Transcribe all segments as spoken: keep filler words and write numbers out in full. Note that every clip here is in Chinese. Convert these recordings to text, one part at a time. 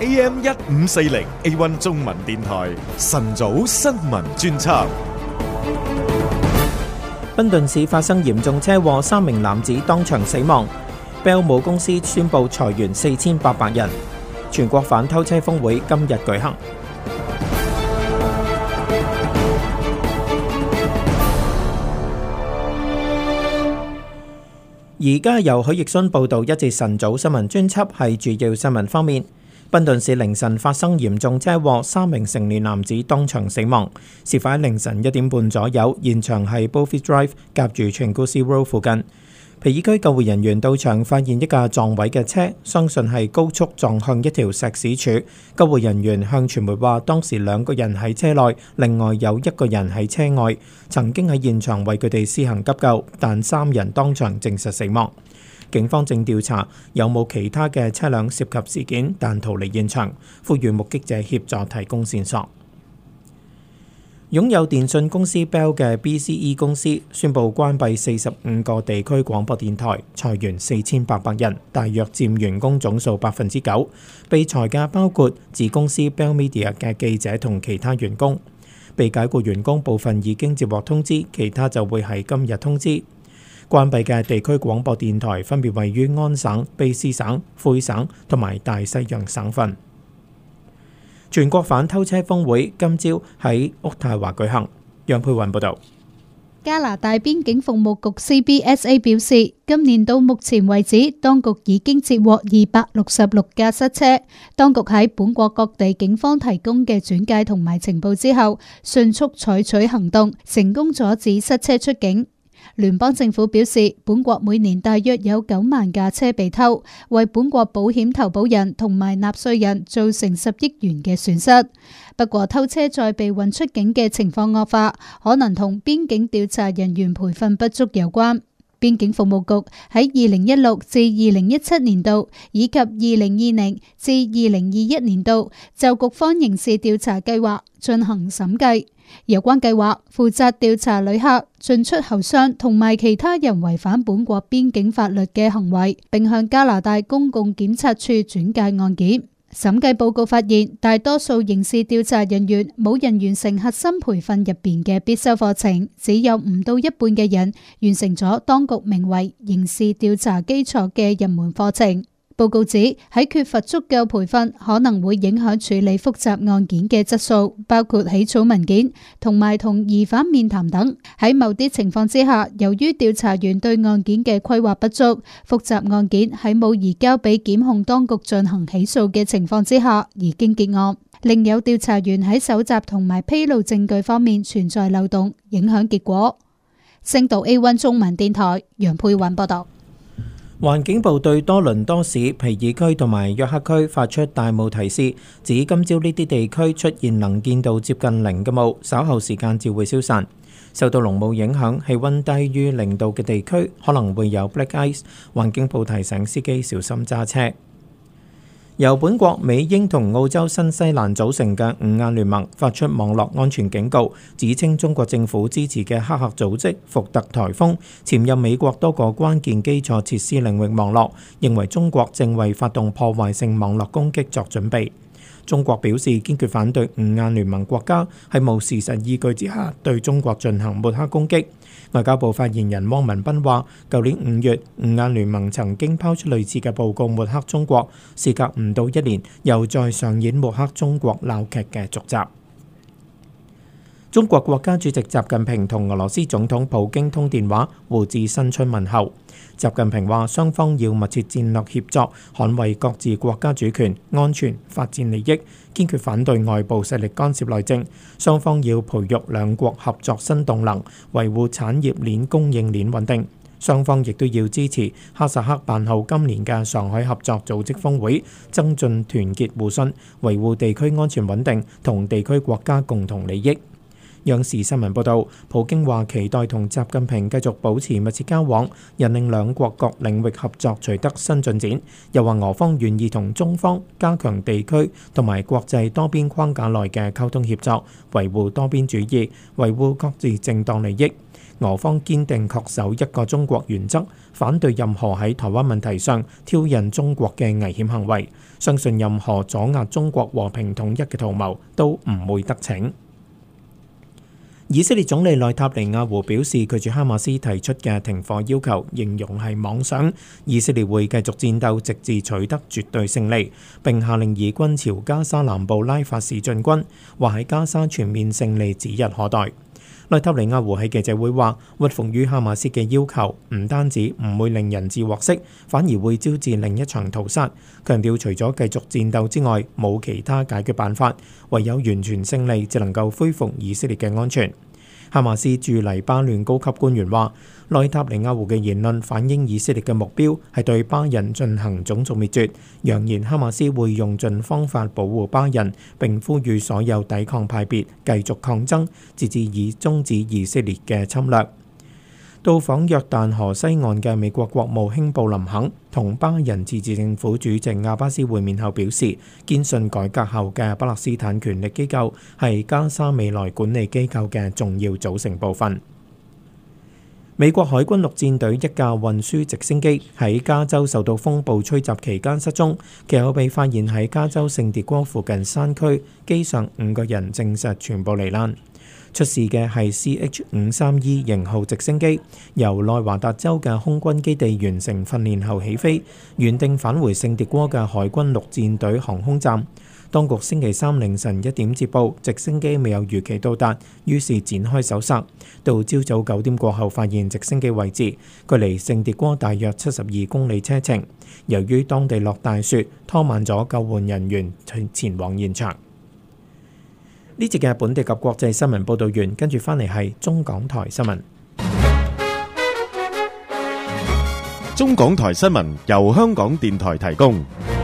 A M 一五四零 A 一 中文電台晨早新聞專輯。 賓頓市發生嚴重車禍，三名男子當場死亡。Bell 母公司宣布裁員四千八百人。全國反偷車峰會今日舉行。而家由許奕迅報道一節晨早新聞專輯，係主要新聞方面。賓頓市凌晨發生嚴重車禍，三名成年男子當場死亡。事發喺凌晨一點半左右，現場係 Bowfield Drive 夾住 Changusi Road 附近。皮爾區救護人員到場，發現一架撞毀嘅車，相信係高速撞向一條石屎柱。救護人員向傳媒話，當時兩個人喺車內，另外有一個人喺車外，曾經喺現場為佢哋施行急救，但三人當場證實死亡。警方正調查有冇其他嘅車輛涉及事件，但逃離現場，呼籲目擊者協助提供線索。擁有電訊公司 Bell 嘅 B C E 公司宣布關閉四十五個地區廣播電台，裁員四千八百人，大約佔員工總數百分之九。被裁嘅包括子公司 Bell Media 嘅記者同其他員工。被解僱員工部分已經接獲通知，其他就會喺今日通知。關閉嘅地區廣播電台分別位於安省、卑詩省、魁省同埋大西洋省份。全國反偷車峰會今朝喺渥太華舉行。楊佩雲報導。 加拿大邊境服務局 C B S A 表示，今年到目前為止，當局已經接獲二百六十六架失車。當局喺本國各地警方提供嘅轉介同埋情報之後，迅速採取行動，成功阻止失車出境。聯邦政府表示，本國每年大約有九萬架車被偷，為本國保險投保人同埋納稅人造成十億元嘅損失。不過，偷車再被運出境嘅情況惡化，可能同邊境調查人員培訓不足有關。邊境服務局喺二零一六至二零一七年度以及二零二零至二零二一年度就局方刑事調查計劃進行審計。有關計劃負責調查旅客、進出口商同埋其他人違反本國邊境法律嘅行為，並向加拿大公共檢察處轉介案件。審計報告發現，大多數刑事調查人員冇人完成核心培訓入邊嘅必修課程，只有唔到一半嘅人完成咗當局名為刑事調查基礎嘅入門課程。報告指，喺缺乏足夠培訓，可能會影響處理複雜案件嘅質素，包括起草文件同埋同疑犯面談等。喺某啲情況之下，由於調查員對案件嘅規劃不足，複雜案件喺冇移交俾檢控當局進行起訴嘅情況之下，已經結案。另有調查員喺搜集同埋披露證據方面存在漏洞，影響結果。星島 A 一 中文電台楊佩雲報道。 環境部對多倫多市、皮爾區同埋約克區發出大霧提示，指今朝呢啲地區出現能見度接近零嘅霧，稍後時間至會消散。受到濃霧影響，氣溫低於零度嘅地區可能會有 black ice。環境部提醒司機小心揸車。由本國、美英同澳洲、新西蘭組成嘅五眼聯盟發出網絡安全警告，指稱中國政府支持嘅黑客組織福特颱風潛入美國多個關鍵基礎設施領域網絡，認為中國正為發動破壞性網絡攻擊作準備。中國表示堅決反對五眼聯盟國家喺冇事實依據之下對中國進行抹黑攻擊。外交部發言人汪文斌話，舊年五月，五眼聯盟曾經拋出類似嘅報告抹黑中國，事隔唔到一年，又再上演抹黑中國鬧劇嘅續集。中國國家主席習近平同俄羅斯總統普京通電話，互致新春問候。習近平話，雙方要密切戰略協作，捍衛各自國家主權、安全、發展利益，堅決反對外部勢力干涉內政。雙方要培育兩國合作新動能，維護產業鏈供應鏈穩定。雙方亦都要支持哈薩克辦好今年嘅上海合作組織峰會，增進團結互信，維護地區安全穩定同地區國家共同利益。央視新聞報導，普京話期待同習近平繼續保持密切交往，引領兩國各領域合作取得新進展。又話俄方願意同中方加強地區同埋國際多邊框架內嘅溝通協作，維護多邊主義，維護各自正當利益。 俄方堅定恪守一個中國原則，反對任何喺台灣問題上挑釁中國嘅危險行為，相信任何阻壓中國和平統一嘅圖謀都唔會得逞。以色列總理內塔尼亞胡表示拒絕哈馬斯提出嘅停火要求，形容係妄想。以色列會繼續戰鬥，直至取得絕對勝利，並下令以軍朝加沙南部拉法市進軍，話喺加沙全面勝利指日可待。內塔尼亞胡喺記者會話，屈服於哈馬斯嘅要求唔單止唔會令人質獲釋，反而會招致另一場屠殺。強調除咗繼續戰鬥之外，冇其他解決辦法，唯有完全勝利，就能夠恢復以色列嘅安全。哈馬斯駐黎巴嫩高級官員話，內塔尼亞胡嘅言論反映以色列嘅目標係對巴人進行種族滅絕，揚言哈馬斯會用盡方法保護巴人，並呼籲所有抵抗派別繼續抗爭，直至以終止以色列嘅侵略。到訪約旦河西岸嘅美國國務卿布林肯同巴人自治政府主席阿巴斯會面後表示，堅信改革後嘅巴勒斯坦權力機構係加沙未來管理機構嘅重要組成部分。美國海軍陸戰隊一架運輸直升機喺加州受到風暴吹襲期間失蹤，其後被發現喺加州聖迭戈附近山區，機上五個人證實全部罹難。出事嘅係 C H 五三 E 型號直升機，由內華達州嘅空軍基地完成訓練後起飛，原定返回聖迭戈嘅海軍陸戰隊航空站。當局星期三凌晨一點接報，直升機未有如期到達，於是展開搜索。到朝早九點過後，發現直升機位置，距離聖迭戈大約七十二公里車程。由於當地落大雪，拖慢咗救援人員前往現場。呢節嘅本地及國際新聞報導完，跟住翻嚟係中港台新聞。 中港台新聞由香港電台提供。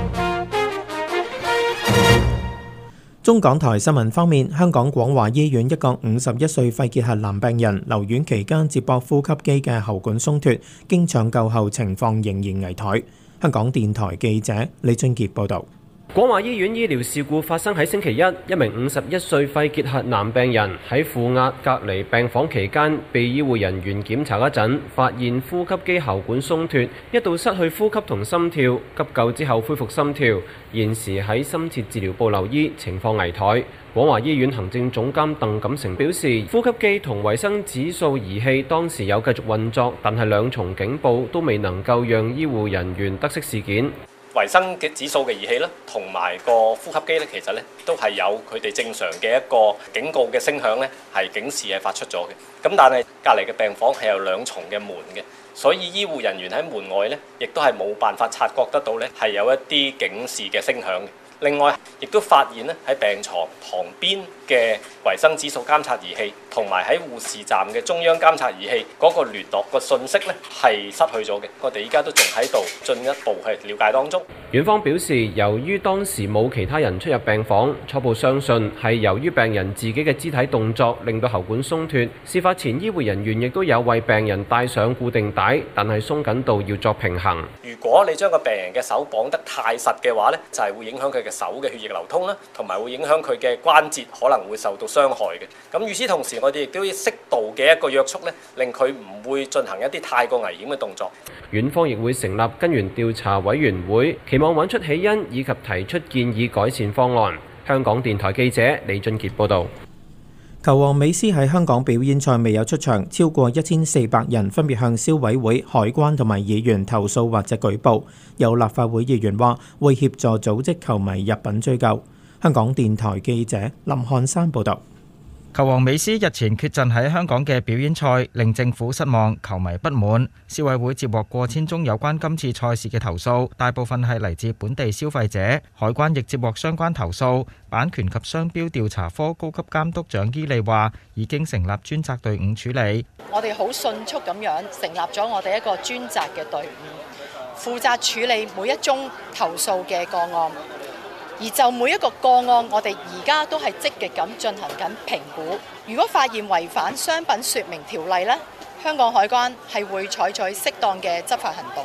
中港台新聞方面，香港廣華醫院一個五十一歲肺結核男病人留院期間接駁呼吸機嘅喉管鬆脱，經搶救後情況仍然危殆。香港電台記者李俊傑報導。 廣華醫院醫療事故發生喺星期一，一名五十一歲肺結核男病人喺負壓隔離病房期間，被醫護人員檢查嗰陣，發現呼吸機喉管鬆脱，一度失去呼吸同心跳，急救之後恢復心跳，現時喺深切治療部留醫，情況危殆。廣華醫院行政總監鄧錦成表示，呼吸機同維生指數儀器當時有繼續運作，但係兩重警報都未能夠讓醫護人員得悉事件。 維生嘅指數嘅儀器咧，同埋個呼吸機咧，其實咧都係有佢哋正常嘅一個警告嘅聲響咧，係警示係發出咗嘅。咁但係隔離嘅病房係有兩重嘅門嘅，所以醫護人員喺門外咧，亦都係冇辦法察覺得到咧係有一啲警示嘅聲響嘅。另外，亦都發現咧喺病床旁邊嘅維生指數監察儀器，同埋喺護士站嘅中央監察儀器嗰個聯絡個信息咧係失去咗嘅。我哋依家都仲喺度進一步去了解當中。 院方表示，由於當時冇其他人出入病房，初步相信係由於病人自己嘅肢體動作令到喉管鬆脱。事發前，醫護人員亦都有為病人帶上固定帶，但係鬆緊度要作平衡。 如果你將個病人嘅手綁得太實嘅話咧，就係會影響佢嘅手嘅血液流通啦，同埋會影響佢嘅關節可能會受到傷害嘅。咁與此同時，我哋亦都要適度嘅一個約束咧，令佢唔會進行一啲太過危險嘅動作。 院方亦會成立根源調查委員會，期望揾出起因以及提出建議改善方案。香港電台記者李俊傑報導。 球王美斯喺香港表演賽未有出場，超過一千四百人分別向消委會、海關同埋議員投訴或者舉報。有立法會議員話會協助組織球迷入稟追究。香港電台記者林漢山報導。 球王美斯日前缺陣喺香港嘅表演賽，令政府失望，球迷不滿。消委會接獲過千宗有關今次賽事嘅投訴，大部分係嚟自本地消費者。海關亦接獲相關投訴。版權及商標調查科高級監督長伊利話，已經成立專責隊伍處理。 我哋好迅速咁樣成立咗我哋一個專責嘅隊伍，負責處理每一宗投訴嘅個案。而就每一個個案，我哋而家都係積極咁進行緊評估。如果發現違反商品說明條例呢，香港海關係會採取適當嘅執法行動。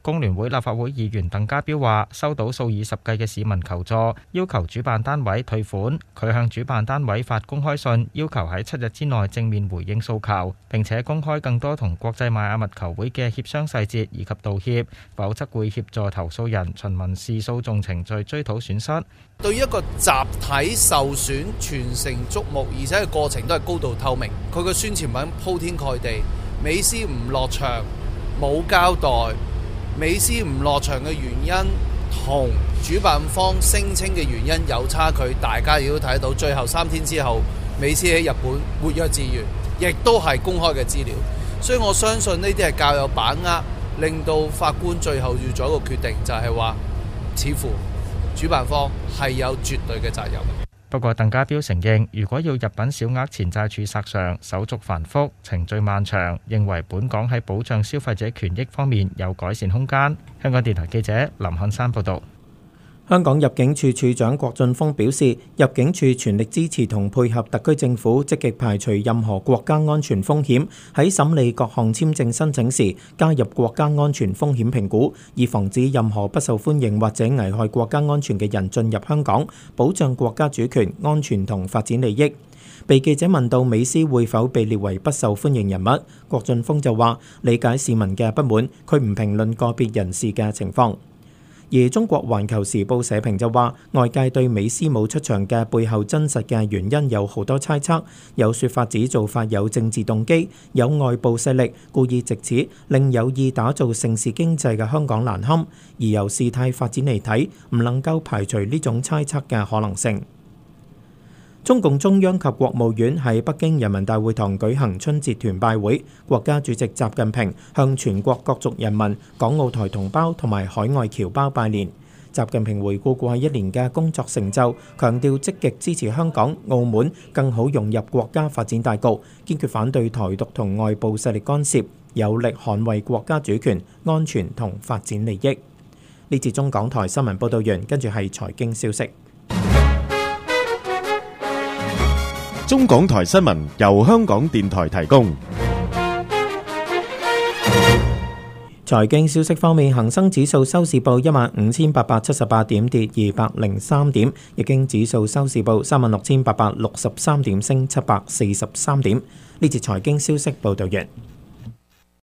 工聯會立法會議員鄧家彪話：收到數以十計嘅市民求助，要求主辦單位退款。佢向主辦單位發公開信，要求喺七日之內正面回應訴求，並且公開更多同國際邁阿密球會嘅協商細節以及道歉，否則會協助投訴人循民事訴訟程序追討損失。 對於一個集體受損、全城矚目，而且個過程都係高度透明，佢個宣傳品鋪天蓋地，美斯唔落場冇交代。美斯唔落場嘅原因同主辦方聲稱嘅原因有差距，大家亦都睇到。最後三天之後，美斯喺日本活躍自如，亦都係公開嘅資料。所以我相信呢啲係較有把握，令到法官最後要做一個決定，就係話似乎主辦方係有絕對嘅責任。 不過，鄧家彪承認，如果要入稟小額錢債處索償，手續繁複、程序漫長，認為本港喺保障消費者權益方面有改善空間。香港電台記者林漢山報導。 香港入境處處長郭俊峰表示，入境處全力支持同配合特區政府，積極排除任何國家安全風險，喺審理各項簽證申請時加入國家安全風險評估，以防止任何不受歡迎或者危害國家安全嘅人進入香港，保障國家主權、安全同發展利益。被記者問到美斯會否被列為不受歡迎人物，郭俊峰就話理解市民嘅不滿，佢唔評論個別人士嘅情況。而中國環球時報社評就話，外界對美斯冇出場嘅背後真實嘅原因有好多猜測，有說法指做法有政治動機，有外部勢力故意藉此令有意打造盛事經濟嘅香港難堪，而由事態發展嚟睇，唔能夠排除呢種猜測嘅可能性。中共中央及國務院喺北京人民大會堂舉行春節團拜會，國家主席習近平向全國各族人民、港澳台同胞同埋海外僑胞拜年。習近平回顧過去一年嘅工作成就，強調積極支持香港、澳門更好融入國家發展大局，堅決反對台獨同外部勢力干涉，有力捍衛國家主權、安全同發展利益。呢節中港台新聞報道完，跟住係財經消息。 中港台新聞由香港電台提供。 財經消息方面，恒生指數收市報一萬五千八百七十八點，跌二百零三點；日經指數收市報三萬六千八百六十三點，升七百四十三點。呢節財經消息報道完。